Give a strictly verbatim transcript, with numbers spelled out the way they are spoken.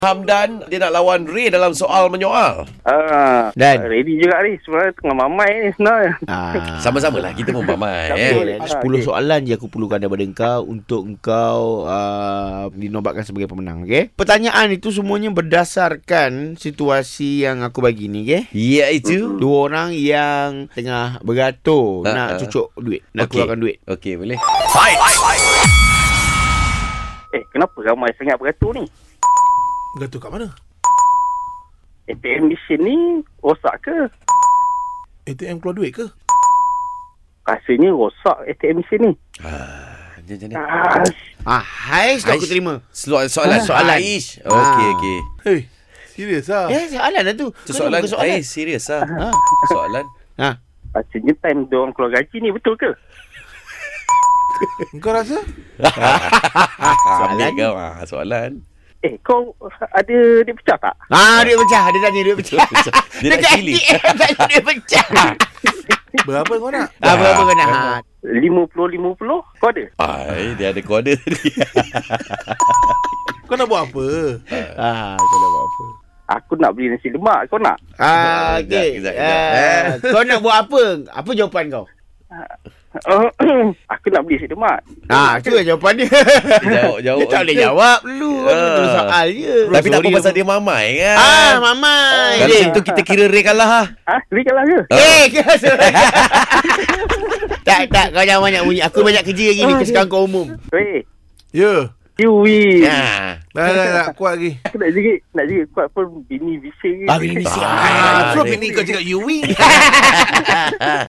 Hamdan, dia nak lawan Ray dalam soal menyoal. Ah, Dan? ready juga ni. Sebenarnya tengah mamai ni sebenarnya. Ah. Sama-sama lah, kita pun mamai. Tak eh. boleh. sepuluh Ah, okay. soalan je aku perlukan daripada engkau untuk engkau uh, dinobatkan sebagai pemenang, okey? Pertanyaan itu semuanya berdasarkan situasi yang aku bagi ni, okey? Iaitu. Dua orang yang tengah beratur Ah, nak ah. cucuk duit, nak Okey. keluarkan duit. Okey, boleh. Eh, kenapa ramai sangat beratur ni? Gatul kat mana? A T M mesin ni rosak ke? A T M keluar duit ke? Rasanya rosak A T M mesin ni. Ah, dia macam ni. Ah, Ah, Haiz tak aku Aish. terima. Soalan, soalan. Soalan. Aish. Okey, Ah. okey. Hei, serius lah. Ya, soalan lah tu. Itu Kau soalan. bukan soalan. Eh, serius lah. Ha. Soalan. Ha. rasanya time diorang keluar gaji ni betul ke? Kau rasa? Soalan kau. Ah, soalan. Eh, kau ada dia pecah tak? Ah, duit pecah. Dia tanya duit pecah. Dia nak Dekat cili. A T M tanya duit pecah. Berapa kau nak? Ah, berapa kau nak? Ha. lima puluh lima puluh kau ada? Ai, dia ada kode tadi. Kau nak buat apa? Ah, kau nak buat apa? Aku nak beli nasi lemak, kau nak? Ah, Kejap, okey. kejap, kejap. Ah, kau nak buat apa? Apa jawapan kau? Aku nak beli nasi lemak. Ah, tu lah jawapan dia. Jawab, jawab. Dia tak boleh jawab dulu. Ah. Itu soal je. Tapi tak apa Sorry, pasal dia mamai kan. Ah, mamai. Kalau Eh, macam tu kita kira Ray kalah lah. Ha? Beli kalah ke? Eh, kau sorry. Tak, tak. Kau jangan banyak bunyi. Aku banyak kerja lagi ni. Kesukaan kau umum. Weh, Ya. you win. Ah. Dah, dah, dah. Kuat lagi. Aku nak jerit, nak jerit kuat pun bini bising. Ah, bini bising. Ah, Ah, terus Ray. bini kau cakap you win.